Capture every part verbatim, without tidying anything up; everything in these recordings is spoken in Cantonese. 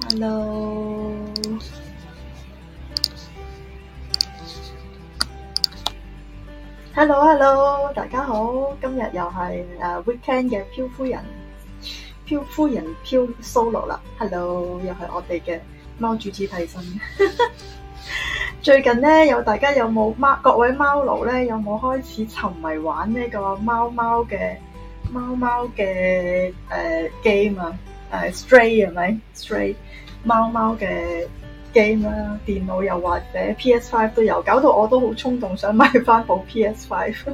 Hello，Hello，大家好，今日又係誒 weekend 嘅漂夫人，漂夫人漂 solo 啦。Hello，又係我哋嘅貓主子替身。最近咧，有大家有冇貓？各位貓奴咧，有冇開始沉迷玩呢個貓貓嘅貓貓嘅誒 game 啊？誒 Stray 係咪 Stray 貓貓嘅 game 啦，電腦又或者 P S 五 都有，搞到我都好衝動想買翻部 P S 五。誒、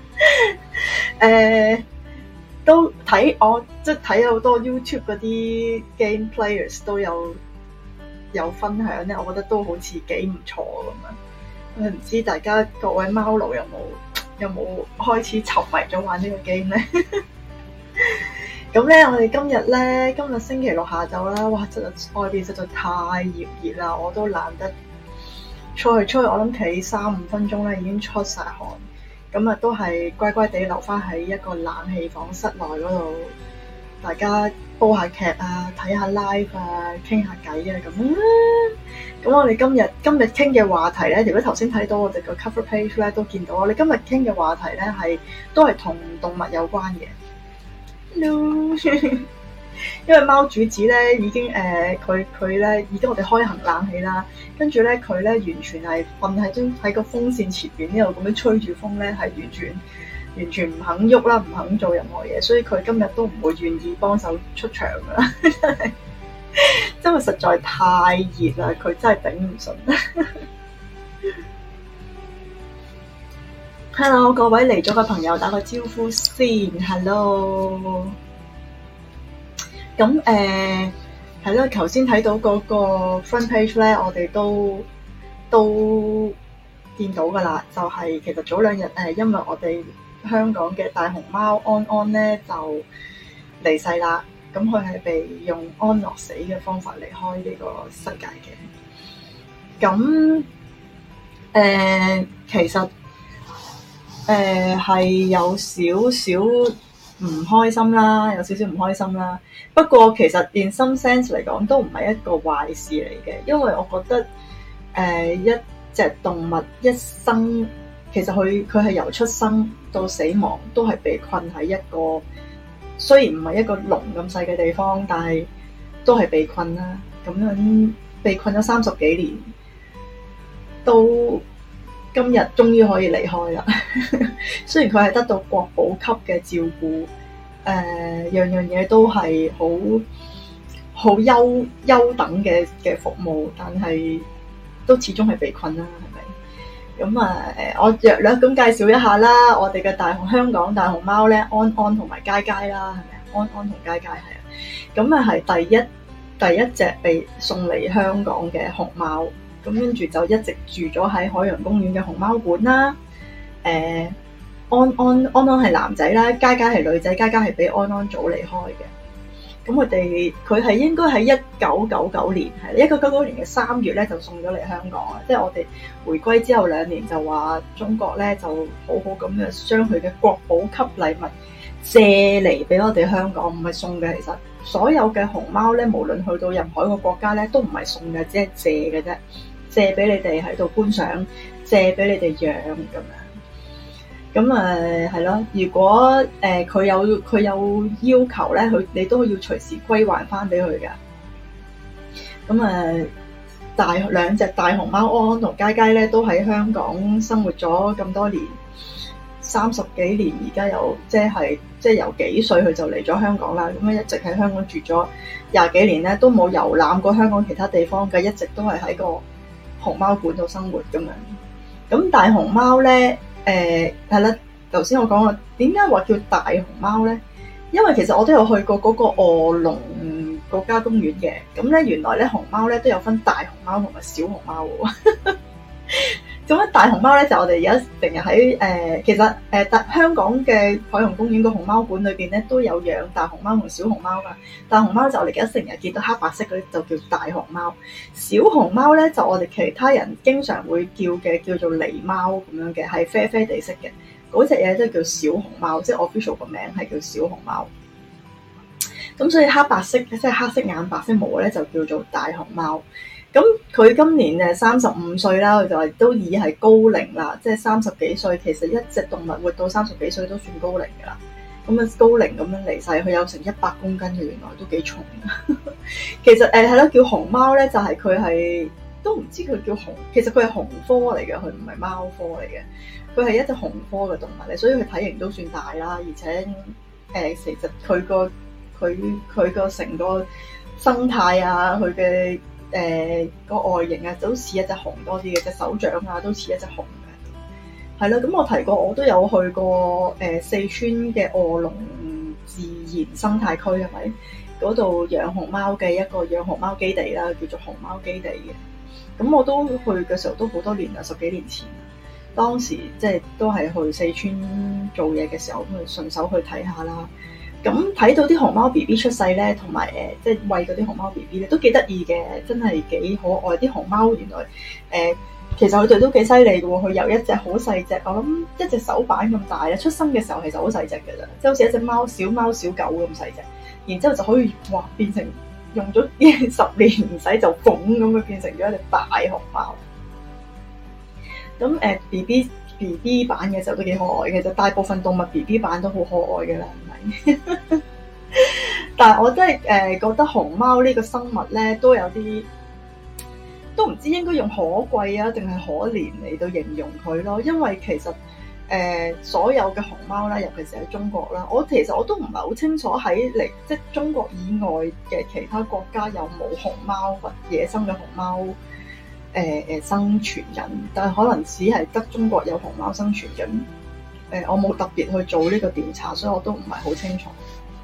呃，都睇我即係睇好多 YouTube 嗰啲 game players 都有有分享咧，我覺得都好似幾唔錯咁樣。唔知大家各位貓奴有冇有冇開始沉迷咗玩呢個 game 咧？咁咧，我哋今日咧，今日星期六下晝啦，哇！真係外邊實在太炎熱啦，我都懶得出去出去。我諗企三五分鐘咧，已經出晒汗。咁啊，都係乖乖地留翻喺一個冷氣房室內嗰度，大家煲下劇啊，睇下 live 啊，傾下偈啊，咁啦。咁我哋今日今日傾嘅話題咧，如果頭先睇到我哋個 cover page 咧，都見到我哋今日傾嘅話題咧，係都係同動物有關嘅。Hello. 因為貓主子咧已經誒佢佢咧已經我哋開行冷氣啦，跟住咧佢咧完全係瞓喺張喺個風扇前邊呢度咁樣吹住風咧，係完全完全唔肯喐啦，唔肯做任何嘢，所以佢今日都唔會願意幫手出場噶啦，真係因為實在太熱啦，佢真係頂唔順。Hello， 各位嚟咗嘅朋友打個招呼先。Hello， 咁誒係咯，頭先睇到嗰個 front page 咧，我哋都都見到噶啦，就係、是、其實早兩日誒，因為我哋香港嘅大熊貓安安咧就離世啦，咁佢係被用安樂死嘅方法離開呢個世界嘅。咁誒、呃，其實。誒係、呃、有少少唔開心啦，有少少唔開心啦。不過其實 in some sense 嚟講都唔係一個壞事嚟嘅，因為我覺得誒、呃、一隻動物一生其實佢佢係由出生到死亡都係被困喺一個雖然唔係一個籠咁細嘅地方，但係都係被困啦。咁樣被困咗三十幾年都。今日終於可以離開啦！雖然佢係得到國寶級嘅照顧，誒、呃、樣樣嘢都係好好優優等嘅嘅服務，但係都始終係被困啦，係咪？咁啊誒，我略略咁介紹一下啦，我哋嘅大熊香港大熊貓咧，安安同埋佳佳啦，係咪啊？安安同佳佳係啊，咁啊係第一第一隻被送嚟香港嘅熊貓。咁跟住就一直住咗喺海洋公園嘅熊貓館啦。誒、呃，安安安安係男仔啦，佳佳係女仔，佳佳係比安安早離開嘅。咁佢哋佢係應該喺一九九九年，係一九九九年嘅三月咧就送咗嚟香港啦。即係我哋回歸之後兩年就話中國咧就好好咁樣將佢嘅國寶級禮物借嚟俾我哋香港，唔係送嘅。其實所有嘅熊貓咧，無論去到任何一個國家咧，都唔係送嘅，只係借嘅啫。借俾你哋喺度觀賞，借俾你哋養咁樣。咁誒係咯，如果誒佢、呃、有佢有要求咧，佢你都要隨時歸還翻俾佢㗎。咁誒、呃、大兩隻大熊貓安安同佳佳咧，都喺香港生活咗咁多年，三十幾年，而家有即係即係由幾歲佢就嚟咗香港啦。咁樣一直喺香港住咗廿幾年咧，都冇遊覽過香港其他地方嘅，一直都係喺個熊貓館度生活咁樣，咁大熊貓咧，誒係啦，頭先我講過點解話叫大熊貓咧？因為其實我都有去過嗰個臥龍國家公園嘅，咁咧原來咧熊貓咧都有分大熊貓同埋小熊貓喎。咁咧大熊貓咧就我哋而家成日喺誒，其實誒大、呃、香港嘅海洋公園個熊貓館裏邊咧都有養大熊貓同小熊貓噶。大熊貓就我哋而家成日見到黑白色嗰啲就叫大熊貓，小熊貓咧就我哋其他人經常會叫嘅叫做狸貓咁樣嘅，係啡啡地色嘅嗰隻嘢都叫小熊貓，即係 official 個名係叫小熊貓。 咁所以黑白色即係黑色眼白色毛咧就叫做大熊貓。咁佢今年誒三十五歲啦，佢就係都已係高齡啦，即係三十幾歲。其實一隻動物活到三十幾歲都算高齡㗎啦。咁啊高齡咁樣離世，佢有成一百公斤嘅，原來都幾重啊。其實誒係咯，叫熊貓咧，就係佢係都唔知佢叫熊，其實佢係熊科嚟嘅，佢唔係貓科嚟嘅。佢係一隻熊科嘅動物嚟，所以佢體型都算大啦，而且誒、呃、其實佢個佢佢個成個生態啊，佢嘅誒個外形啊，都似一隻熊多啲嘅，隻手掌啊都似一隻熊嘅。係啦，咁我提過，我都有去過誒、呃、四川嘅臥龍自然生態區，係咪？嗰度養熊貓嘅一個養熊貓基地啦，叫做熊貓基地嘅。咁我都去嘅時候都好多年啦，十幾年前。當時即係都係去四川做嘢嘅時候，咁去順手去睇下啦。咁睇到啲熊貓 B B 出世咧，同埋誒即係餵嗰啲熊貓 B B 咧，都幾得意嘅，真係幾可愛。啲熊貓原來誒、呃、其實佢哋都幾犀利嘅喎，佢由一隻好細隻，我諗一隻手板咁大咧，出生嘅時候其實好細隻嘅咋，即係好似一隻貓小貓小狗咁細隻，然之後就可以哇變成用咗十年唔使就縫咁樣變成咗一隻大熊貓。咁誒 B B B B 版嘅時候都幾可愛嘅，就大部分動物 B B 版都好可愛嘅啦，係咪？但係我真係誒覺得熊貓呢個生物咧都有啲都唔知應該用可貴啊定係可憐嚟到形容佢咯，因為其實誒、呃、所有嘅熊貓啦，尤其是喺中國啦，我其實我都唔係好清楚喺嚟即係中國以外嘅其他國家有冇熊貓或野生嘅熊貓。誒誒、呃、生存緊，但係可能只係得中國有熊貓生存緊。誒、呃，我冇特別去做呢個調查，所以我都唔係好清楚。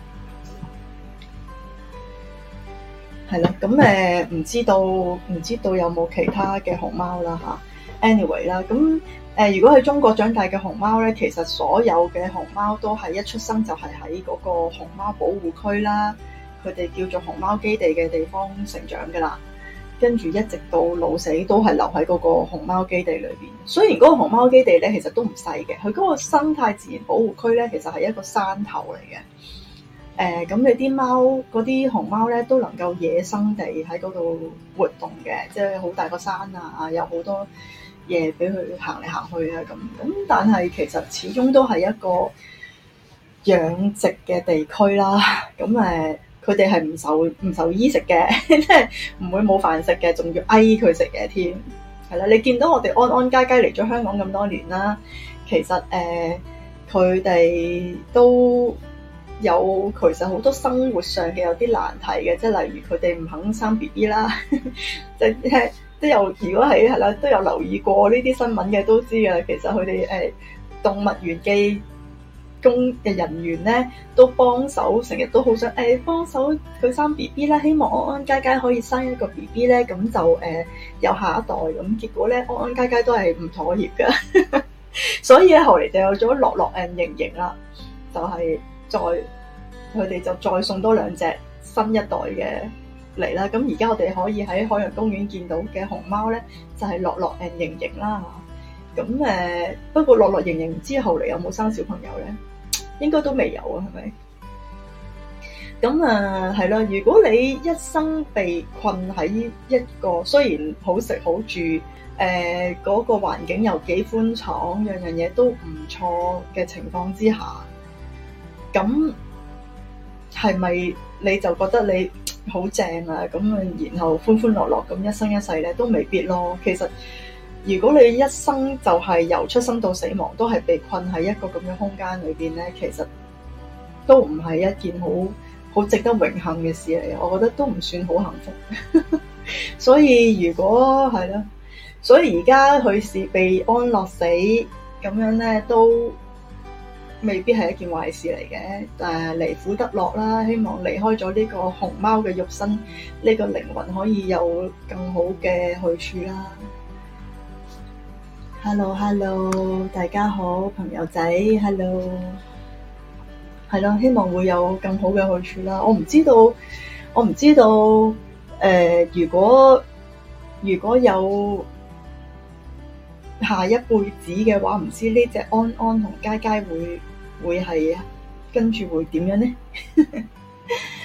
係啦，咁誒唔知道唔知道有冇其他嘅熊貓啦嚇。Anyway 啦，咁誒、呃、如果喺中國長大嘅熊貓咧，其實所有嘅熊貓都係一出生就係喺嗰個熊貓保護區啦，佢哋叫做熊貓基地嘅地方成長㗎啦。跟住一直到老死都係留喺嗰個熊貓基地裏邊。雖然嗰個熊貓基地咧其實都唔細嘅，佢嗰個生態自然保護區咧其實係一個山頭嚟嘅。誒、呃，咁你啲貓嗰啲熊貓咧都能夠野生地喺嗰度活動嘅，即係好大個山啊，有好多嘢俾佢行嚟行去啊咁。咁但係其實始終都係一個養殖嘅地區啦。咁誒。佢哋係唔受唔受衣食嘅，即係唔會冇飯食嘅，仲要嗌佢食嘅添。係啦，你見到我哋安安佳佳嚟咗香港咁多年啦，其實誒佢哋都有其實好多生活上嘅有啲難題嘅，即係例如佢哋唔肯生 B B 啦，即係都有如果係係啦都有留意過呢啲新聞嘅都知㗎啦。其實佢哋誒動物園嘅工嘅人員咧都幫手，成日都好想誒、欸、幫手佢生 B B 啦，希望安安佳佳可以生一個 B B 咧，咁就誒、呃、有下一代咁。結果咧，安安佳佳都係唔妥協㗎，所以咧後嚟就有咗樂樂 and 盈盈啦，就係、是、再佢哋就再送多兩隻新一代嘅嚟啦。咁而家我哋可以喺海洋公園見到嘅熊貓咧，就係樂樂 and 盈盈啦。咁誒、呃、不過樂樂盈盈之後嚟有冇生小朋友咧？應該都未有啊，係咪？咁啊，係啦。如果你一生被困喺一個雖然好食好住，誒、呃、嗰、那個環境又幾寬敞，樣樣嘢都唔錯嘅情況之下，咁係咪你就覺得你好正啊？咁啊，然後歡歡樂樂咁一生一世咧，都未必咯。其實如果你一生就係由出生到死亡都係被困喺一個咁嘅空間裏邊咧，其實都唔係一件好好值得榮幸嘅事嚟。我覺得都唔算好幸福。所以如果係啦，所以而家佢是被安樂死咁樣咧，都未必係一件壞事嚟嘅。誒，離苦得樂啦，希望離開咗呢個熊貓嘅肉身，呢、呢個靈魂可以有更好嘅去處啦。Hello Hello， 大家好，朋友仔 Hello， 係咯，希望會有更好嘅去處啦。我唔知道，我唔知道，誒、呃，如果如果有下一輩子嘅話，唔知呢隻安安同佳佳會會係跟住會點樣呢？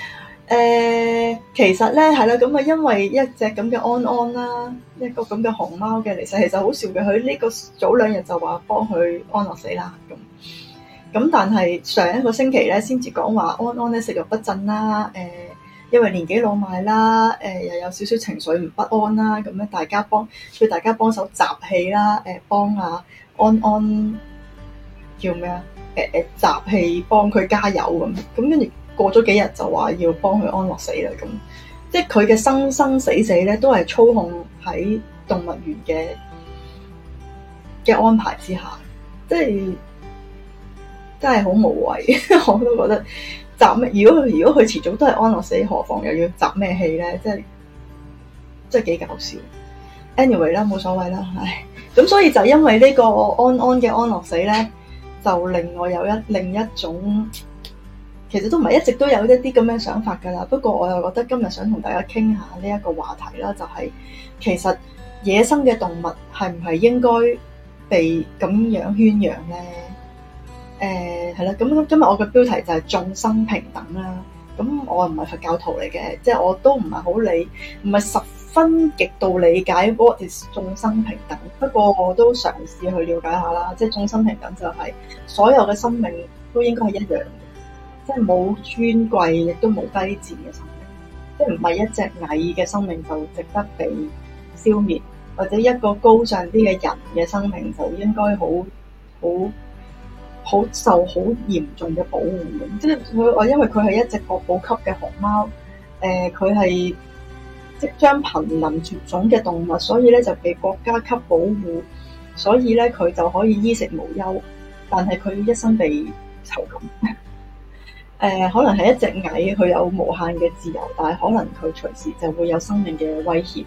誒，其實咧係啦，咁啊，因為一隻咁嘅安安啦，一個咁嘅熊貓嘅離世，其實好笑嘅。佢呢個早兩日就話幫佢安樂死啦，咁咁，但係上一個星期咧先至講話安安咧食慾不振啦，誒，因為年紀老邁啦，誒又有少少情緒唔不安啦，咁咧大家幫叫大家幫手集氣啦，誒幫阿安安叫咩啊？誒誒集氣幫佢加油咁，咁跟住。過咗幾日就話要幫佢安樂死啦，咁即係佢嘅生生死死咧都係操控喺動物園嘅嘅安排之下，即係真係好無謂。我都覺得集咩？如果如果佢遲早都係安樂死，何況又要集咩氣咧？即係即係幾搞笑。Anyway 啦，冇所謂啦，唉。咁所以就因為呢個安安嘅安樂死咧，就令我有一另一種。其實都唔係一直都有一啲咁樣想法㗎啦，不過我又覺得今日想同大家傾下呢一個話題啦，就係、是、其實野生嘅動物係唔係應該被咁樣圈養咧？誒係啦，咁今日我嘅標題就係眾生平等啦。咁我唔係佛教徒嚟嘅，即係我都唔係好理，唔係十分極度理解 what is 眾生平等。不過我都嘗試去了解下啦，即係眾生平等就係所有嘅生命都應該係一樣。即係冇尊貴，亦都冇低賤嘅生命，即係唔係一隻矮嘅生命就值得被消滅，或者一個高尚啲嘅人嘅生命就應該好好好受好嚴重嘅保護嘅。即係佢我因為佢係一隻國寶級嘅熊貓，誒佢係即將瀕臨絕種嘅動物，所以咧就被國家級保護，所以咧佢就可以衣食無憂，但係佢一生被囚禁。誒、呃、可能係一隻蟻，佢有無限嘅自由，但係可能佢隨時就會有生命嘅威脅。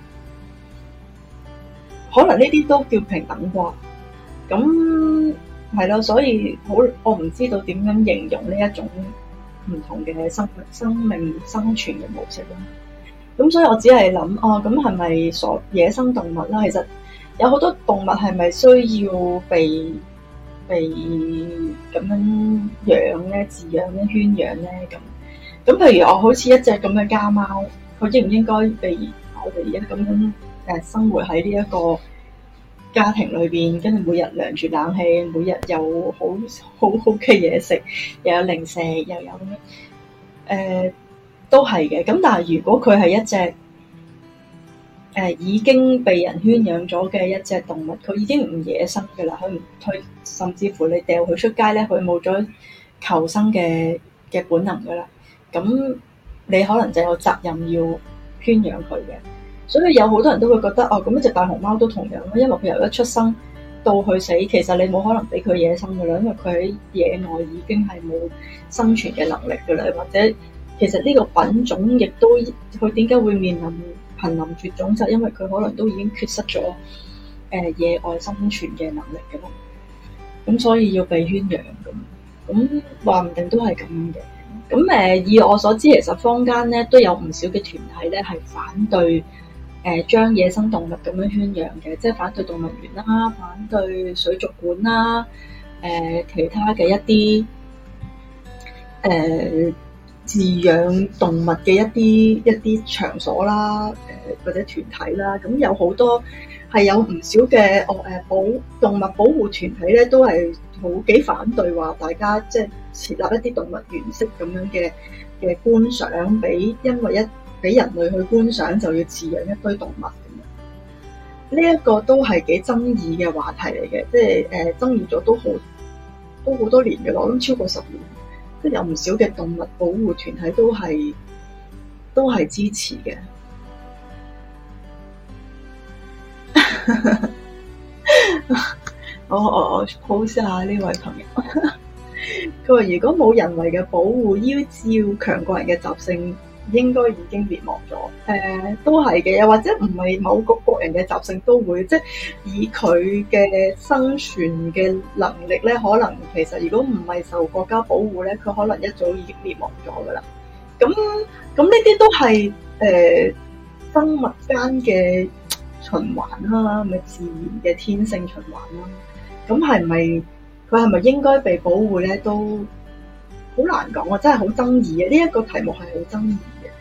可能呢啲都叫平等啩？咁係咯，所以好，我唔知道點樣形容呢一種唔同嘅生生命生存嘅模式啦。咁所以我只係諗，哦，咁係咪所野生動物啦？其實有好多動物係咪需要被被咁樣養咧、飼養咧、圈養咧咁？咁譬如我好似一隻咁嘅家貓，佢應唔應該被我哋而家咁樣誒生活喺呢一個家庭裏邊，跟住每日涼住冷氣，每日有好好好嘅嘢食，又有零食，又有咁樣誒，都係嘅。咁但係如果佢係一隻誒、呃、已經被人圈養咗嘅一隻動物，佢已經唔野生嘅啦，佢唔佢甚至乎你掉佢出街咧，佢冇咗求生嘅嘅本能噶啦。咁你可能就有責任要圈養佢嘅。所以有好多人都會覺得哦，咁一隻大熊貓都同樣咯，因為佢由一出生到去死，其實你冇可能俾佢野生噶啦，因為佢喺野外已經係冇生存嘅能力噶啦，或者其實呢個品種亦都佢點解會面臨瀕臨絕種，就係因為佢可能都已經缺失咗誒野外生存嘅能力噶嘛，咁所以要被圈養咁，咁話唔定都係咁嘅。咁誒以我所知，其實坊間咧都有唔少嘅團體咧係反對誒將野生動物咁樣圈養嘅，即係反對動物園啦，反對水族館啦，誒、呃、其他嘅一啲誒飼養動物嘅一啲一啲場所啦，誒、呃、或者團體啦，咁有好多係有唔少嘅哦誒保動物保護團體咧，都係好幾反對話大家即係設立一啲動物園式咁樣嘅嘅觀賞，俾因為一俾人類去觀賞就要飼養一堆動物咁樣，呢、這、一個都係幾爭議嘅話題嚟嘅，即係誒、呃、爭議咗都好都好多年嘅，我諗超過十年，即係有唔少嘅動物保護團體都係都係支持嘅。我我我 post 下呢位朋友，佢話如果冇人為嘅保護，依照強國人嘅習性，應該已經滅亡咗。誒、呃，都係嘅，又或者唔係某個國人嘅習性都會，即係以佢嘅生存嘅能力咧，可能其實如果唔係受國家保護咧，佢可能一早已經滅亡咗噶啦。咁咁呢啲都係誒、呃、生物間嘅循環啦，咪自然嘅天性循環啦。咁係咪佢係咪應該被保護咧？都好難講啊，真係好爭議嘅。呢、這、一個題目係好爭議嘅。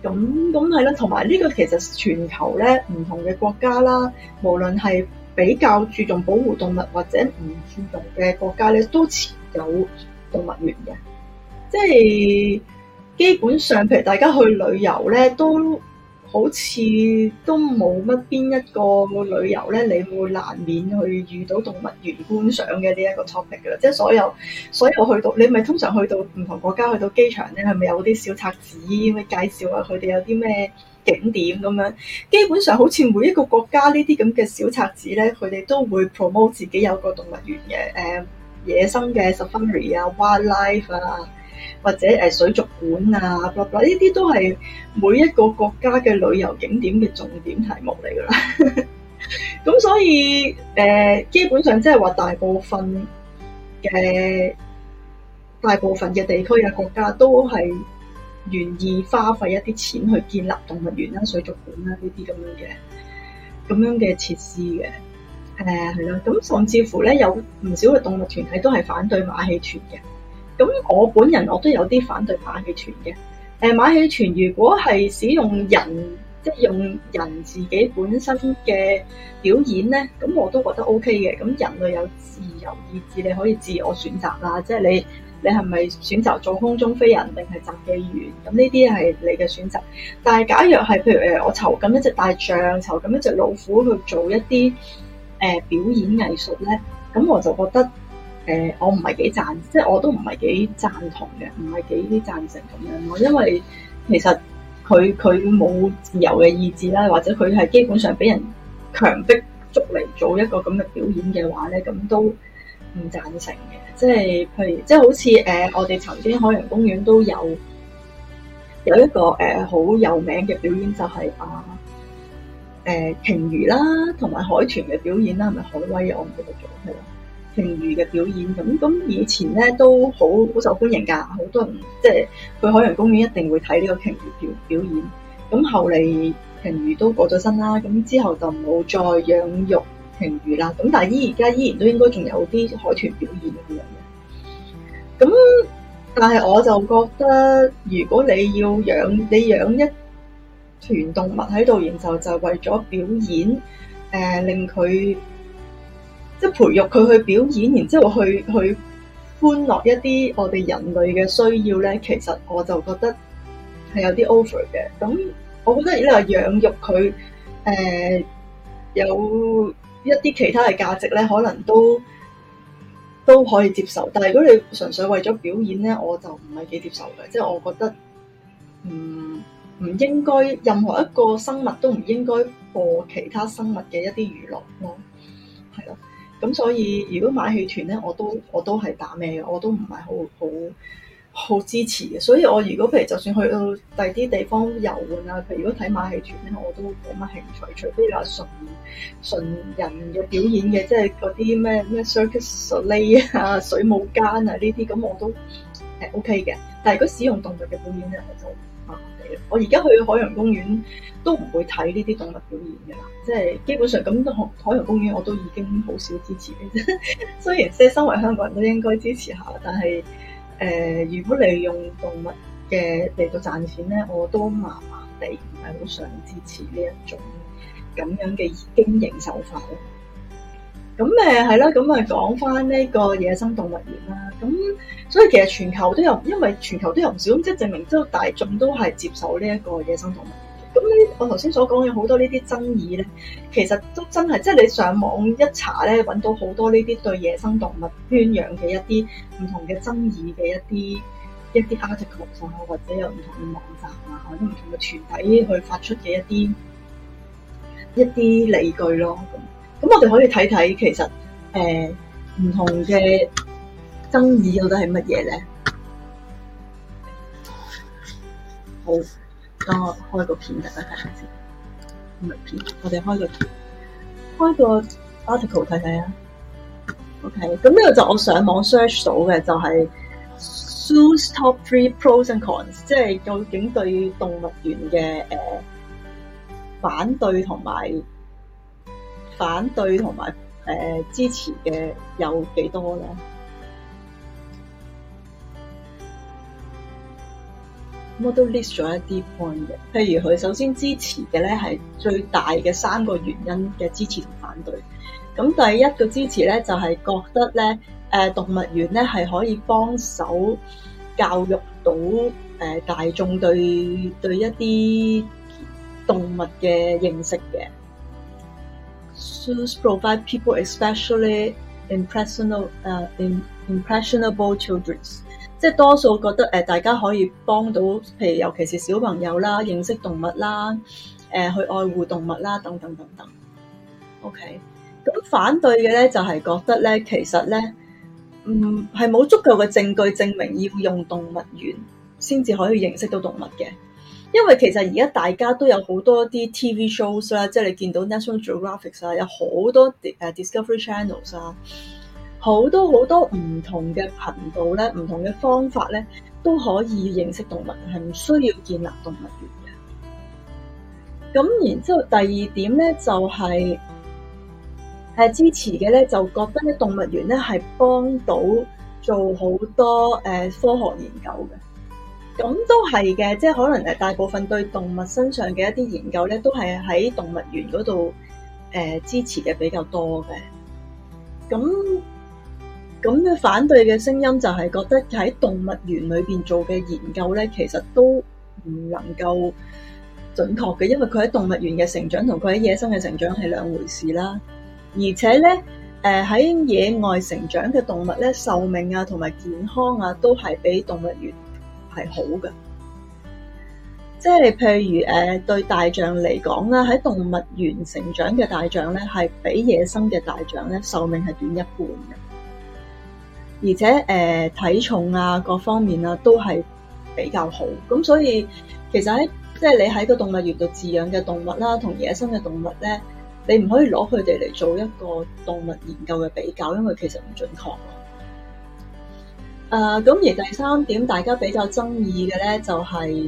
咁咁係啦，同埋呢個其實全球咧唔同嘅國家啦，無論係比較注重保護動物或者唔注重嘅國家咧，都持有動物園嘅。即係基本上，譬如大家去旅遊咧，都好似都冇乜邊一個旅遊咧，你會難免去遇到動物園觀賞嘅呢一個 topic 㗎啦。即係所有所有去到，你咪通常去到唔同國家，去到機場咧，係咪有啲小冊子咁介紹下佢哋有啲咩景點咁樣？基本上好似每一個國家呢啲咁嘅小冊子咧，佢哋都會 promote 自己有個動物園嘅，誒、呃、野生嘅 safari 啊、wildlife 啊。或者誒水族館啊，呢啲都係每一個國家嘅旅遊景點嘅重點題目嚟㗎啦。咁所以誒、呃，基本上即係話大部分嘅大部分嘅地區嘅國家都係願意花費一啲錢去建立動物園啦、水族館啦呢啲咁樣嘅咁樣嘅設施嘅。誒係啦，咁甚至乎咧有唔少嘅動物團體都係反對馬戲團嘅。咁我本人我都有啲反對馬戲團嘅。誒、呃、馬戲團如果係使用人，即係用人自己本身嘅表演咧，咁我都覺得 O K 嘅。咁人類有自由意志，你可以自我選擇啦。即係你你係咪選擇做空中飛人定係雜技員？咁呢啲係你嘅選擇。但係假若係譬如誒我籌緊一隻大象，籌緊一隻老虎去做一啲誒、呃、表演藝術咧，咁我就覺得。誒、呃，我唔係幾贊，即係我都唔係幾贊同嘅，唔係幾贊成咁樣咯。因為其實佢佢冇自由嘅意志啦，或者佢係基本上俾人強迫捉嚟做一個咁嘅表演嘅話咧，咁都唔贊成嘅。即係譬如，即係好似誒、呃，我哋曾經海洋公園都有有一個誒好、呃、有名嘅表演，就係、是、啊誒鯨魚啦，同埋海豚嘅表演啦，係咪海威啊？我唔記得咗係啦。鯨魚嘅表演咁咁以前咧都好好受歡迎㗎，好多人即係去海洋公園一定會睇呢個鯨魚表表演。咁後嚟鯨魚都過咗身啦，咁之後就冇再養育鯨魚啦。咁但係依而家依然都應該仲有啲海豚表演咁樣嘅。咁但係我就覺得，如果你要養你養一團動物喺度，然後就為咗表演，誒、呃、令佢。即係培育佢去表演，然之後去去歡樂一啲我哋人類嘅需要咧，其實我就覺得係有啲 over 嘅。咁我覺得如果你話養育佢，誒、呃、有一啲其他嘅價值咧，可能都都可以接受。但係如果你純粹為咗表演咧，我就唔係幾接受嘅。即係我覺得唔唔應該，任何一個生物都唔應該播其他生物嘅一啲娛樂咯，係咯。咁所以如果馬戲團咧，我都我都係打咩嘅，我都唔係好好好支持嘅。所以我如果譬如就算去到第啲地方遊玩啊，譬如如果睇馬戲團咧，我都冇乜興趣。除非你話純純人嘅表演嘅，即係嗰啲咩咩 Circus Soleil 啊、水舞間啊呢啲，咁我都係 OK 嘅。但係如果使用動物嘅表演咧，我就麻麻地。我而家去海洋公園都唔會睇呢啲動物表演嘅啦，即係基本上咁海洋公園我都已經好少支持嘅啫。雖然即係身為香港人都應該支持下，但係誒、呃，如果你用動物嘅嚟到賺錢咧，我都麻麻地唔係好想支持呢一種咁樣嘅經營手法咯。咁誒係啦，咁啊講翻呢個野生動物園啦。咁所以其實全球都有，因為全球都有唔少，咁即係證明即係大眾都係接受呢一個野生動物園嘅。咁呢，我頭先所講嘅好多呢啲爭議咧，其實都真係即係你上網一查咧，揾到好多呢啲對野生動物圈養嘅一啲唔同嘅爭議嘅一啲一啲 article 啊，或者有唔同嘅網站啊，或者唔同嘅團體去發出嘅一啲一啲理據咯。咁咁我哋可以睇睇其實誒唔同嘅爭議到底係乜嘢咧？好，等我開個片大家睇下先。唔係片，我哋開個開個 article 睇睇啊。OK，咁呢個就我上網 search 到嘅，就係 Zoos Top Three Pros and Cons， 即係究竟對動物園嘅誒反對同埋反對同埋誒支持嘅有幾多咧？ 我都 list 咗一啲 point 嘅，譬如佢首先支持嘅咧係最大嘅三個原因嘅支持同反對。咁第一個支持咧就係、是、覺得咧，誒動物園咧係可以幫手教育到誒、呃、大眾對對一啲動物嘅認識嘅。Zoos provide people, especially impressionable, 誒、uh, impressionable children。即係多數覺得誒，大家可以幫到，譬如尤其是小朋友啦，認識動物啦，誒、呃、去愛護動物啦，等等等等。OK，咁反對嘅咧就係、是、覺得咧，其實咧，嗯係冇足夠嘅證據證明要用動物園先至可以認識到動物嘅，因為其實而家大家都有好多啲 T V shows 啦，即係你見到 National Geographic 啊，有好多誒 Discovery Channels 啊。好多好多唔同嘅頻道咧，唔同嘅方法咧，都可以認識動物，係唔需要建立動物園嘅。咁然之後第二點咧，就係、是、係支持嘅咧，就覺得咧動物園咧係幫到做好多誒、呃、科學研究嘅。咁都係嘅，即係可能誒大部分對動物身上嘅一啲研究咧，都係喺動物園嗰度誒支持嘅比較多嘅。咁咁嘅反對嘅聲音就係覺得喺動物園裏邊做嘅研究咧，其實都唔能夠準確嘅，因為佢喺動物園嘅成長同佢喺野生嘅成長係兩回事啦。而且咧，誒喺野外成長嘅動物咧，壽命啊同埋健康啊都係比動物園係好嘅。即係譬如誒對大象嚟講啦，喺動物園成長嘅大象咧，係比野生嘅大象咧壽命係短一半嘅。而且誒、呃、體重啊各方面啊都係比較好，咁所以其實喺即係你喺個動物園度飼養嘅動物啦，同野生嘅動物咧，你唔可以攞佢哋嚟做一個動物研究嘅比較，因為其實唔準確。誒、呃、咁而第三點大家比較爭議嘅咧，就係、是、誒、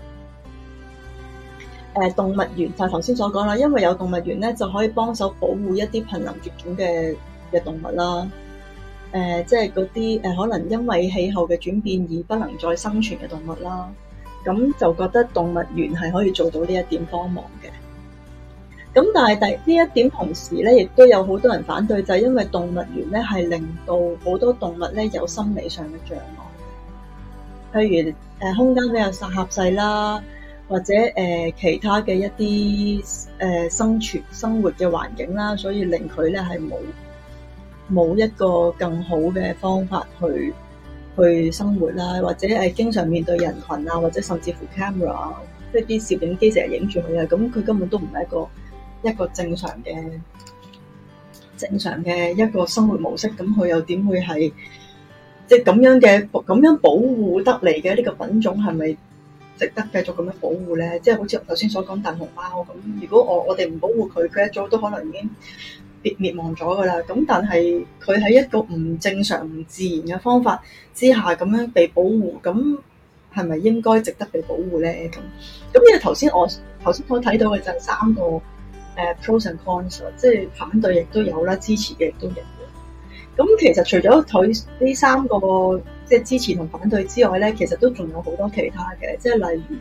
呃、動物園就係頭先所講啦，因為有動物園咧就可以幫手保護一啲瀕臨絕種嘅嘅動物啦。誒、呃，即係嗰啲誒，可能因為氣候嘅轉變而不能再生存嘅動物啦，咁就覺得動物園係可以做到呢一點幫忙嘅。咁但係第呢一點同時咧，亦都有好多人反對，就係、是、因為動物園咧係令到好多動物咧有心理上嘅障礙，譬如誒、呃、空間比較狹細啦，或者誒、呃、其他嘅一啲誒、呃、生存生活嘅環境啦，所以令佢咧係冇。冇一個更好嘅方法去去生活啦，或者係經常面對人群啊，或者甚至乎 camera， 即係啲攝影機成日影住佢啊，咁佢根本都唔係一個一個正常嘅正常嘅一個生活模式，咁佢又點會係即係咁樣嘅咁樣保護得嚟嘅呢個品種係咪值得繼續咁樣保護咧？即係好似頭先所講大熊貓咁，如果我我哋唔保護佢，佢一早都可能已經滅亡咗噶啦，咁但係佢喺一個唔正常、唔自然嘅方法之下咁樣被保護，咁係咪應該值得被保護咧？咁咁因為頭先我頭先所睇到嘅就係三個誒、uh, pros and cons， 即係反對亦都有啦，支持嘅亦都有。咁其實除咗佢呢三個即係支持同反對之外咧，其實都仲有好多其他嘅，即係例如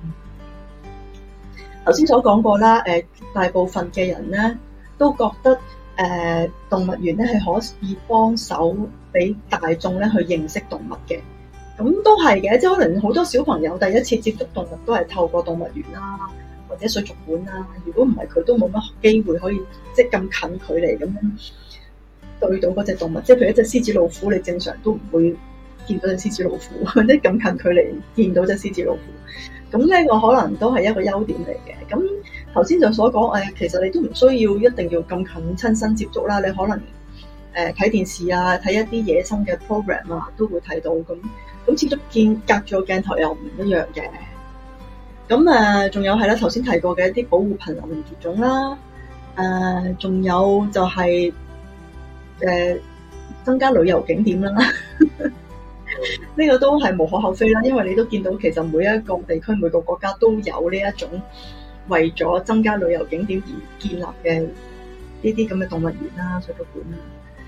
頭先、嗯、所講過啦，誒、呃、大部分嘅人咧，都覺得誒、呃、動物園咧係可以幫手俾大眾咧去認識動物嘅，咁都係嘅，即係可能好多小朋友第一次接觸動物都係透過動物園啦，或者水族館啦。如果唔係佢都冇乜機會可以即係咁近距離咁樣對到嗰隻動物，即係譬如一隻獅子老虎，你正常都唔會見到隻獅子老虎，或者咁近距離見到隻獅子老虎。咁呢個可能都係一個優點嚟嘅。咁頭先就所講誒，其實你都唔需要一定要咁近親身接觸啦。你可能誒睇、呃、電視啊，睇一啲野生嘅 program 啊，都會睇到。咁咁始終見隔住個鏡頭又唔一樣嘅。咁誒，仲、呃、有係啦，頭先提過嘅一啲保護瀕臨絕種啦。誒、呃，仲有就係、是、誒、呃、增加旅遊景點啦。呢個都係無可厚非啦，因為你都見到其實每一個地區每個國家都有呢一種為咗增加旅遊景點而建立嘅呢啲咁嘅動物園啦、水族館啦，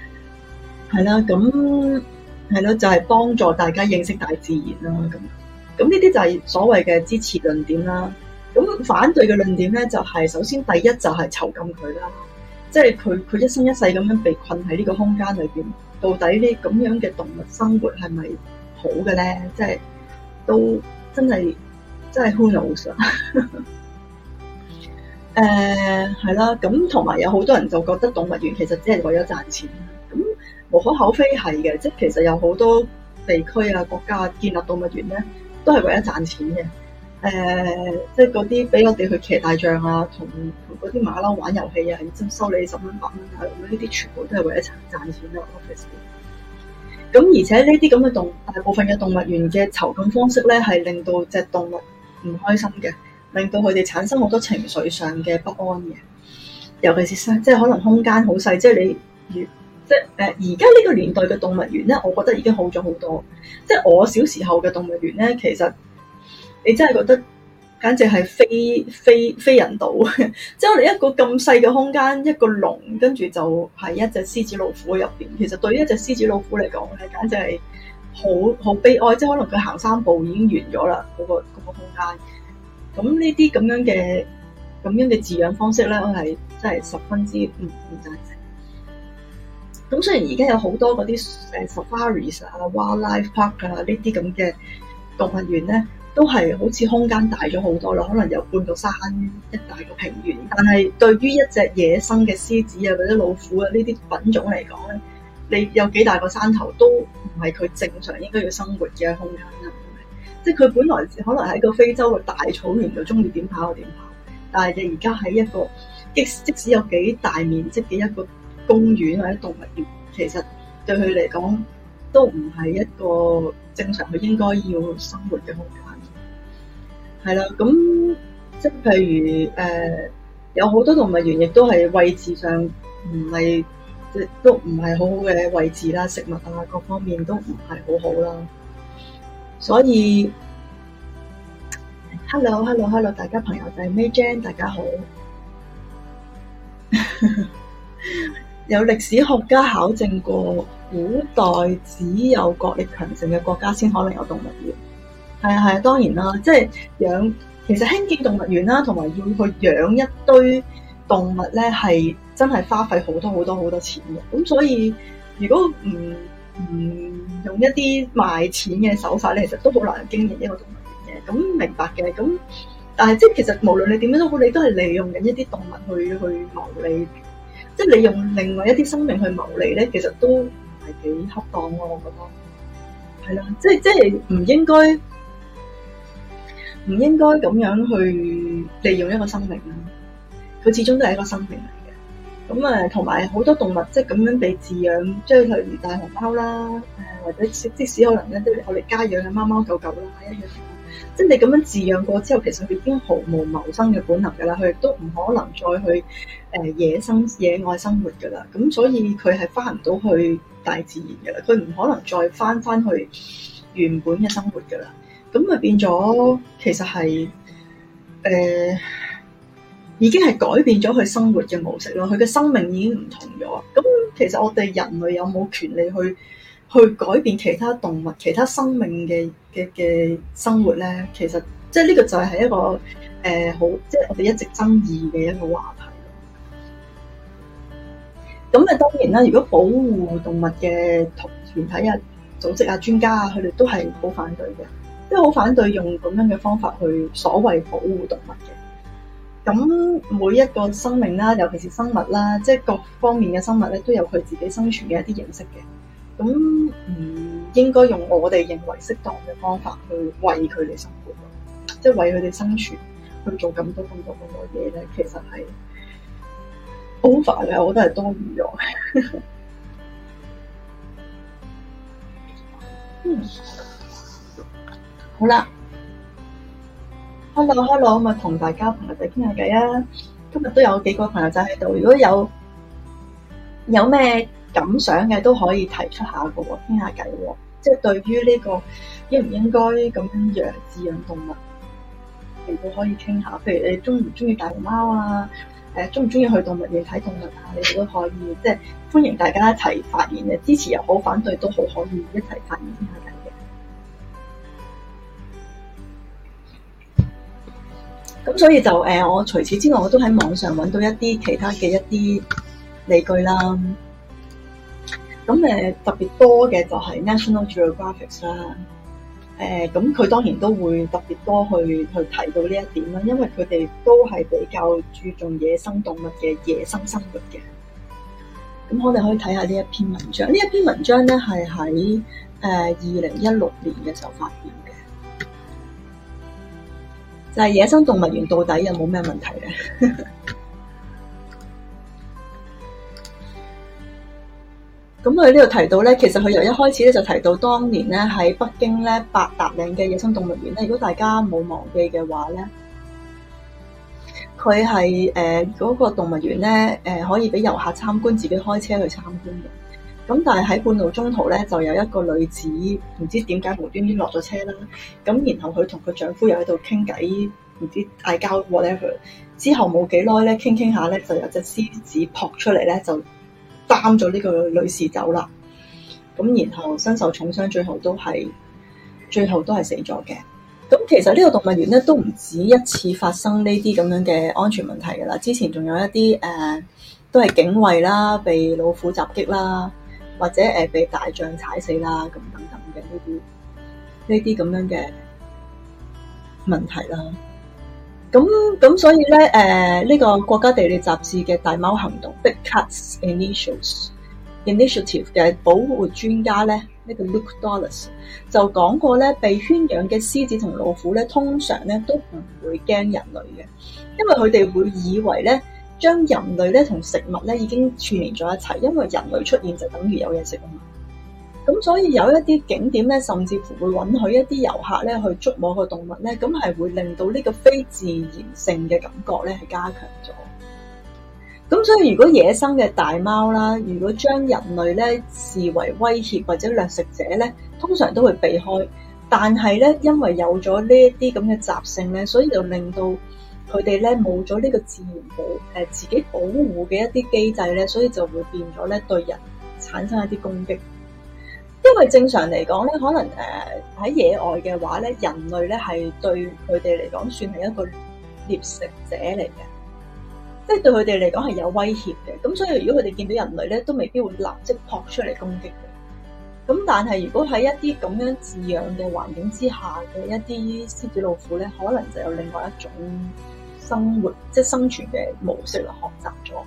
係啦，咁係咯，就係、是、幫助大家認識大自然啦。咁咁呢啲就係所謂嘅支持論點啦。咁反對嘅論點咧，就係、是、首先第一就係囚禁佢啦，即係佢佢一生一世咁樣被困喺呢個空間裏邊，到底呢咁樣嘅動物生活係咪好嘅咧？即係都真係真係 who knows 啊！誒係啦，咁同埋有好多人就覺得動物園其實只係為咗賺錢，咁無可厚非係嘅，即係其實有好多地區啊、國家建立動物園咧，都係為咗賺錢嘅。誒、呃，即係嗰啲俾我哋去騎大象啊，同同嗰啲馬騮玩遊戲啊，然之後收你十蚊八蚊啊，咁呢啲全部都係為咗賺賺錢咯。咁而且呢啲咁嘅動大部分嘅動物園嘅囚禁方式咧，係令到隻動物唔開心嘅。令到佢哋產生好多情緒上嘅不安嘅，尤其是即係可能空間好細，即係你越即係誒而家呢個年代嘅動物園咧，我覺得已經好咗好多。即係我小時候嘅動物園咧，其實你真係覺得簡直係非非非人道。即係我哋一個咁細嘅空間，一個籠，跟住就係一隻獅子老虎入邊。其實對於一隻獅子老虎嚟講咧，簡直係好好悲哀。即係可能佢行三步已經完咗啦，嗰個嗰個空間。咁呢啲咁樣嘅咁樣嘅飼養方式咧，我係真係十分之唔唔贊成。咁雖然而家有好多嗰啲誒 safaris 啊、wildlife park 啊呢啲咁嘅動物園咧，都係好似空間大咗好多啦，可能有半個山一大個平原。但係對於一隻野生嘅獅子啊或者老虎啊呢啲品種嚟講咧，你有幾大個山頭都唔係佢正常應該要生活嘅空間啦。即係佢本來可能喺個非洲嘅大草原度，中意點跑就點跑。但係你而家喺一個即即使有幾大面積嘅一個公園或者動物園，其實對佢嚟講都唔係一個正常佢應該要生活嘅空間。係啦，咁即係譬如誒、呃，有好多動物園亦都係位置上唔係即都唔係好好嘅位置啦，食物啊各方面都唔係好好啦。所以 ，hello hello hello，大家朋友仔 May Jane， 大家好。有歷史學家考證過，古代只有國力強盛嘅國家先可能有動物園。係啊係啊，當然啦，即係養，其實興建動物園啦，同埋要去養一堆動物咧，係真係花費好多好多好多錢嘅。咁所以，如果唔唔用一啲賣錢嘅手法咧，其實都好難經營一個動物園嘅。咁明白嘅，咁但係即係其實無論你點樣都好，你都係利用緊一啲動物去去牟利，即係你用另外一啲生命去牟利咧，其實都唔係幾恰當咯。我覺得係啦，即係即係唔應該唔應該咁樣去利用一個生命啦。佢始終都係一個生命嚟。咁啊，同埋好多動物即係咁樣被飼養，即係例如大熊貓啦，誒或者即使可能咧，即係我哋家養嘅貓貓狗狗啦一樣。即係你咁樣飼養過之後，其實佢已經毫無謀生嘅本能㗎啦，佢亦都唔可能再去誒野生野外生活㗎啦。咁所以佢係翻唔到去大自然㗎啦，佢唔可能再翻翻去原本嘅生活㗎啦。咁咪變咗其實係誒。呃已經係改變咗佢生活嘅模式咯，佢嘅生命已經唔同咗。咁其實我哋人類有冇權利去去改變其他動物、其他生命嘅嘅嘅生活咧？其實即係呢個就係一個誒、呃、好，即係我哋一直爭議嘅一個話題咯。咁啊，當然啦，如果保護動物嘅團體啊、組織啊、專家啊，佢哋都係好反對嘅，即係好反對用咁樣嘅方法去所謂保護動物嘅。咁每一個生命啦，尤其是生物啦，即係各方面嘅生物咧，都有佢自己生存嘅一啲形式嘅。咁唔應該用我哋認為適當嘅方法去為佢哋生活，即係為佢哋生存去做咁多咁多咁多嘢咧，其實係 over 嘅，我覺得係多餘咗。嗯，好啦。Hello，Hello， 咁啊，同大家朋友仔傾下偈啊！今日都有幾個朋友仔喺度，如果有有咩感想嘅都可以提出下嘅喎，傾下偈喎。即係對於呢個應唔應該咁樣養飼養動物，你都可以傾下。譬如你中唔中意大熊貓啊？誒，中唔中意去動物園睇動物啊？你哋都可以，即係歡迎大家一齊發言嘅，支持又好，反對都好，可以一齊發言傾下偈嘅。 咁所以就誒、呃，我除此之外，我都喺網上揾到一啲其他嘅一啲理據啦。咁誒、呃、特別多嘅就係 National Geographic 啦。誒、呃，咁佢當然都會特別多去去提到呢一點啦，因為佢哋都係比較注重野生動物嘅野生生活嘅。咁我哋可以睇下呢一篇文章。呢一篇文章咧係喺誒二零一六年嘅時候發表嘅，就係、是、野生動物園到底有冇咩問題咧？咁佢呢度提到咧，其實佢由一開始咧就提到當年咧喺北京咧八達嶺嘅野生動物園咧，如果大家冇忘記嘅話咧，佢係誒嗰個動物園咧誒、呃、可以俾遊客參觀，自己開車去參觀嘅。咁但係喺半路中途咧，就有一個女子唔知點解無端端落咗車啦。咁然後佢同佢丈夫又喺度傾偈，唔知嗌交 whatever。之後冇幾耐咧，傾傾下咧，就有隻獅子撲出嚟咧，就擔咗呢個女士走啦，咁然後身受重傷，最後都係最後都係死咗嘅。咁其實呢個動物園咧都唔止一次發生呢啲咁樣嘅安全問題噶啦，之前仲有一啲誒、呃、都係警衛啦，被老虎襲擊啦，或者誒、呃、被大象踩死啦，咁等等嘅呢啲呢啲咁樣嘅問題啦。咁咁所以咧，誒、呃、呢、這個國家地理雜誌嘅大貓行動 Big Cats Initiative Initiative 嘅保護專家咧，呢、這個 Luke Dawless 就講過咧，被圈養嘅獅子同老虎咧，通常咧都唔會驚人類嘅，因為佢哋會以為咧，將人類咧同食物咧已經串聯咗一齊，因為人類出現就等於有嘢食啊嘛。咁所以有一啲景點咧，甚至乎會允許一啲遊客咧去觸摸個動物咧，咁係會令到呢個非自然性嘅感覺咧係加強咗。咁所以如果野生嘅大貓啦，如果將人類咧視為威脅或者掠食者咧，通常都會避開。但係咧，因為有咗呢一啲咁嘅習性咧，所以就令到佢哋咧冇咗呢個自然保誒、呃、自己保護嘅一啲機制咧，所以就會變咗咧對人產生一啲攻擊。因為正常嚟講咧，可能誒喺、呃、野外嘅話咧，人類咧係對佢哋嚟講算係一個獵食者嚟嘅，即係對佢哋嚟講係有威脅嘅。咁所以如果佢哋見到人類咧，都未必會立即撲出嚟攻擊嘅。咁但係如果喺一啲咁樣飼養嘅環境之下嘅一啲獅子老虎咧，可能就有另外一種生活即係生存嘅模式嚟學習咗。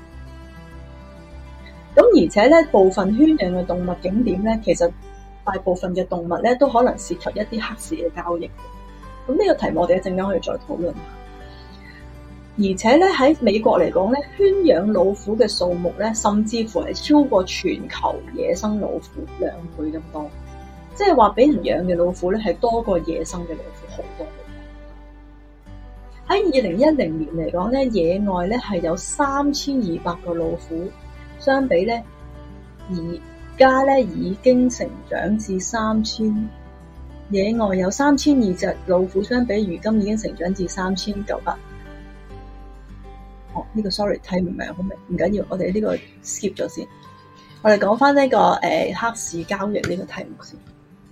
咁而且咧，部分圈養嘅動物景點咧，其實大部分嘅動物咧都可能涉及一啲黑市嘅交易。咁呢個題目我哋一陣間可以再討論下。而且咧喺美國嚟講咧，圈養老虎嘅數目咧，甚至乎係超過全球野生老虎兩倍咁多。即係話俾人養嘅老虎咧，係多過野生嘅老虎好多。喺二零一零年嚟講咧，野外咧係有三千二百個老虎。相比咧，而家咧已經成長至三千，野外有三千二隻老虎，相比如今已經成長至三千九百。哦，呢、這個 sorry 睇唔明，好明，唔緊要，我哋呢個 skip 咗先。我哋講翻呢個誒、呃、黑市交易呢個題目先。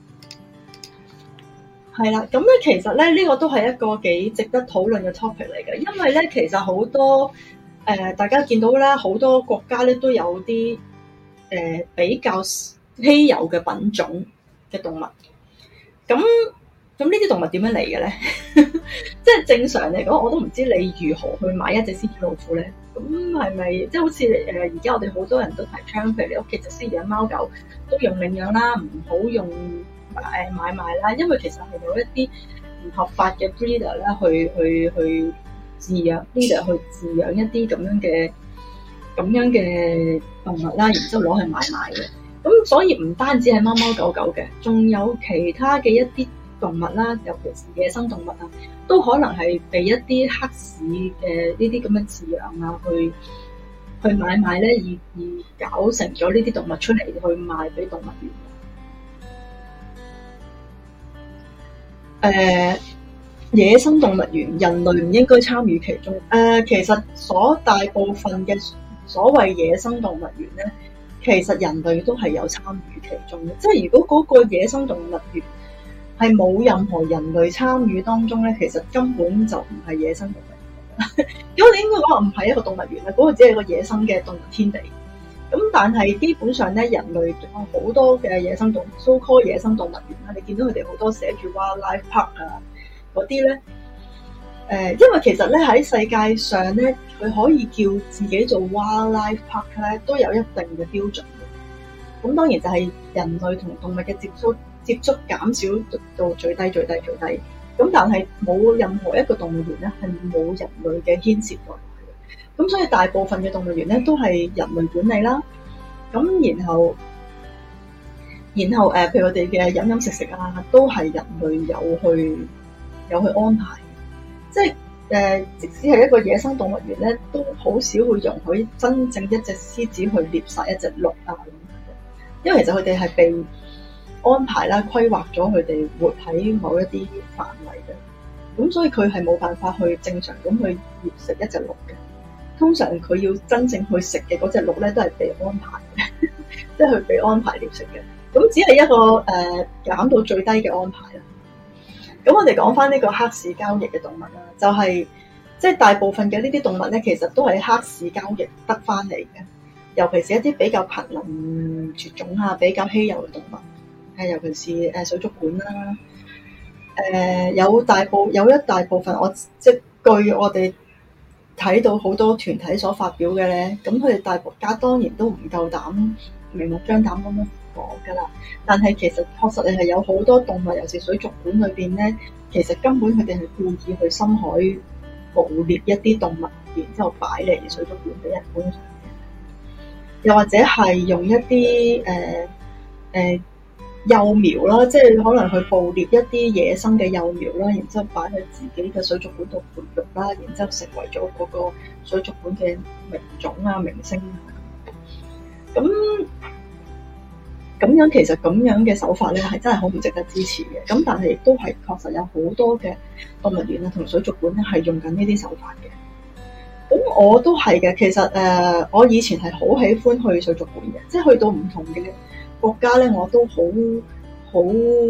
係啦，咁咧其實咧呢、這個都係一個幾值得討論嘅 topic 嚟嘅，因為咧其實好多。誒、呃，大家見到啦，好多國家咧都有啲誒、呃、比較稀有嘅品種嘅動物。咁咁呢啲動物點樣嚟嘅咧？即係正常嚟講，我都唔知你如何去買一隻獅子老虎咧。咁係咪即係好似誒而家我哋好多人都提倡，譬如你屋企隻獅養貓狗都用領養啦，唔好用誒買賣啦，因為其實係有一啲唔合法嘅 breeder 啦，去去去。飼養呢度去飼養一啲咁樣嘅咁樣嘅動物啦，然之後攞去買賣嘅。咁所以唔單止係貓貓狗狗嘅，仲有其他嘅一啲動物啦，尤其是野生動物啊，都可能係被一啲黑市嘅呢啲咁嘅飼養啊，去去買賣咧，而而搞成咗呢啲動物出嚟去賣俾動物園。誒、呃。野生動物園，人類唔應該參與其中。誒、呃，其實所大部分嘅所謂野生動物園咧，其實人類都係有參與其中嘅。即係如果嗰個野生動物園係冇任何人類參與當中咧，其實根本就唔係野生動物園。 咁我哋應該講話唔係一個動物園啦，嗰、那個只係一個野生嘅動物天地。咁但係基本上咧，人類有好多嘅野生動物 so called 野生動物園啦，你見到佢哋好多寫住 wildlife park 啊嗰啲咧，誒、呃，因為其實咧喺世界上咧，佢可以叫自己做 wildlife park 咧，都有一定嘅標準嘅。咁當然就係人類同動物嘅接觸接觸減少到最低最低最低。咁但係冇任何一個動物園咧係冇人類嘅牽涉在。咁所以大部分嘅動物園咧都係人類管理啦，咁然後，然後誒、呃，譬如我哋嘅飲飲食食啊，都係人類有去有去安排，即係誒、呃，即使係一個野生動物園咧，都好少會容許真正一隻獅子去獵殺一隻鹿啊，因為其實佢哋係被安排啦、規劃咗佢哋活喺某一啲範圍嘅，咁所以佢係冇辦法去正常咁去獵食一隻鹿嘅。通常佢要真正去食嘅嗰隻鹿咧，都係被安排嘅，即係佢被安排獵食嘅。咁只係一個誒、呃、減到最低嘅安排啦。咁我哋講翻呢個黑市交易嘅動物啦，就係即係大部分嘅呢啲動物咧，其實都係黑市交易得翻嚟嘅。尤其是一啲比較瀕臨絕種啊、比較稀有嘅動物，誒尤其是誒水族館啦。誒、呃、有大部有一大部分我即係據我哋睇到好多團體所發表嘅咧，咁佢哋大國家當然都唔夠膽明目張膽咁樣講㗎啦。但係其實確實係有好多動物，尤其是水族館裏邊咧，其實根本佢哋係故意去深海捕獵一啲動物，然之後擺嚟水族館俾人觀賞嘅。又或者係用一啲誒誒幼苗啦，即係可能去捕獵一啲野生嘅幼苗啦，然之後擺喺自己嘅水族館度培育啦，然之後成為咗嗰個水族館嘅名種啊、明星啊。咁咁樣其實咁樣嘅手法咧，係真係好唔值得支持嘅。咁但係亦都係確實有好多嘅動物園啊同水族館咧係用緊呢啲手法嘅。咁我都係嘅，其實誒、呃，我以前係好喜歡去水族館嘅，即係去到唔同嘅國家咧，我都好好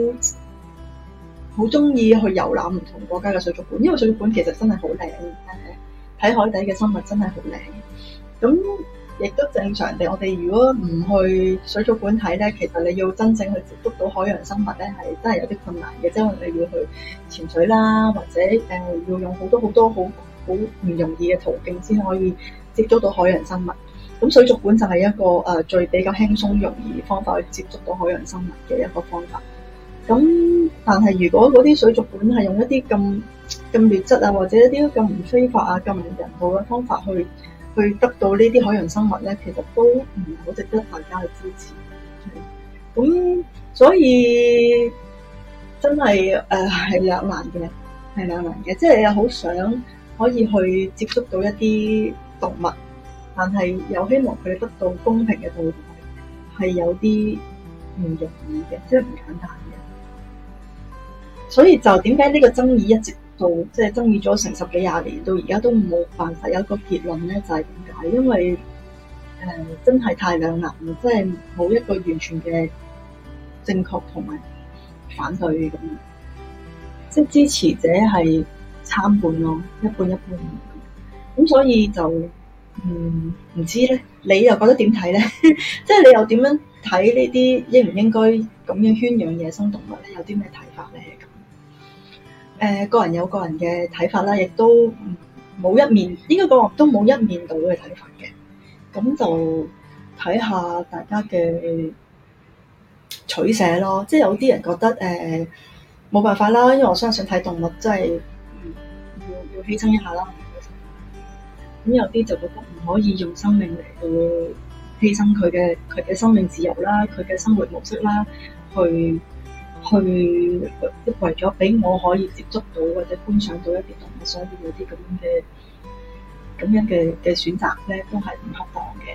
好中意去遊覽唔同國家嘅水族館，因為水族館其實真係好靚，睇海底嘅生物真係好靚。咁亦都正常地，我哋如果唔去水族館睇咧，其實你要真正去接觸到海洋生物咧，係真係有啲困難嘅，即係你要去潛水啦，或者誒、呃、要用好多好多好好唔容易嘅途徑先可以接觸到海洋生物。咁水族館就係一個誒、呃、最比較輕鬆容易方法去接觸到海洋生物嘅一個方法。咁但係如果嗰啲水族館係用一啲咁咁劣質啊，或者一啲咁唔非法啊、咁唔人道嘅方法去去得到呢啲海洋生物咧，其實都唔好值得大家去支持。咁所以真係誒係兩難嘅，係兩難嘅，即係又好想可以去接觸到一啲動物，但係又希望佢哋得到公平嘅對待，係有啲唔容易嘅，即係唔簡單嘅。所以就點解呢個爭議一直到即係爭議咗成十幾廿年，到而家都冇辦法有一個結論咧？就係點解？因為誒、呃、真係太兩難啦，即係冇一個完全嘅正確同埋反對咁，即係支持者係參半咯，一半一半。咁所以就嗯唔知咧，你又覺得點睇咧？即係你又點樣睇呢啲應唔應該咁樣圈養野生動物咧？有啲咩睇法咧？誒、呃、個人有個人嘅睇法啦，亦都冇一面，應該講都冇一面倒嘅睇法嘅。咁就睇下大家嘅取捨咯。即係有啲人覺得誒冇、呃、辦法啦，因為我相信睇動物真係要要犧牲一下啦。咁有啲就覺得唔可以用生命嚟到犧牲佢嘅佢嘅生命自由啦，佢嘅生活模式啦，去。去為咗俾我可以接觸到或者觀賞到一啲動物，所以有啲咁樣嘅咁樣嘅嘅選擇咧，都係唔恰當嘅。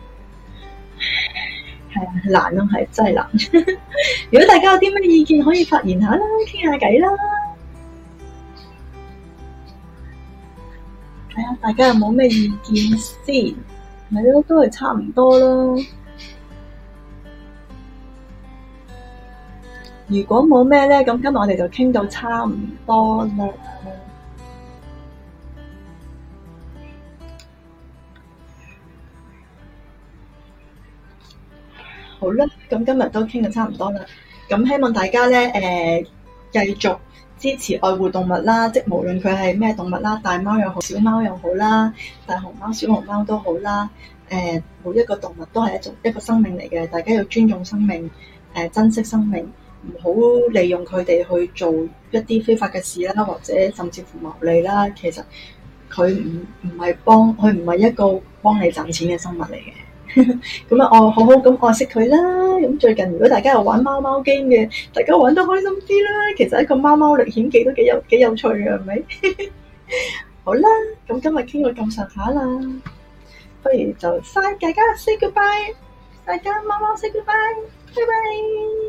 係啊，難咯，係真係難。如果大家有啲咩意見，可以發言下啦，傾下偈啦。睇下大家有冇咩意見先，係咯，都係差唔多咯。如果冇咩咧，咁今日我哋就傾到差唔多啦。 好啦，咁今日都傾得差唔多啦。咁希望大家咧，誒、呃，繼續支持愛護動物啦，即無論佢係咩動物啦，大貓又好，小貓又好啦，大熊貓、小熊貓都好啦。誒、呃，每一個動物都係一種一個生命嚟嘅，大家要尊重生命，誒、呃，珍惜生命，唔好利用佢哋去做一啲非法嘅事啦，或者甚至乎牟利啦。其實佢唔唔係幫，佢唔係一個幫你賺錢嘅生物嚟嘅。咁啊，我好好咁愛惜佢啦。咁最近如果大家有玩貓貓 game 嘅，大家玩得開心啲啦。其實一個貓貓歷險記都幾有幾有趣嘅，係咪？好啦，咁今日傾到咁上下啦，不如就晒大家 say goodbye，大家貓貓 say goodbye，拜拜。